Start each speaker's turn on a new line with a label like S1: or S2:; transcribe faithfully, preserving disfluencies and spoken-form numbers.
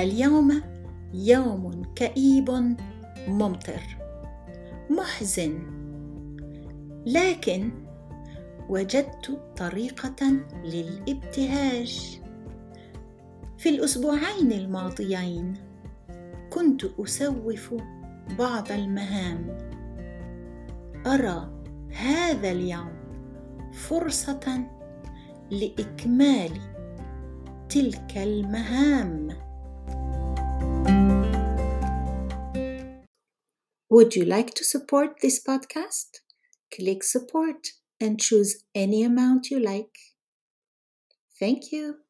S1: اليوم يوم كئيب ممطر محزن، لكن وجدت طريقة للابتهاج. في الأسبوعين الماضيين كنت أسوف بعض المهام. أرى هذا اليوم فرصة لإكمال تلك المهام. Would you like to support this podcast? Click support and choose any amount you like. Thank you.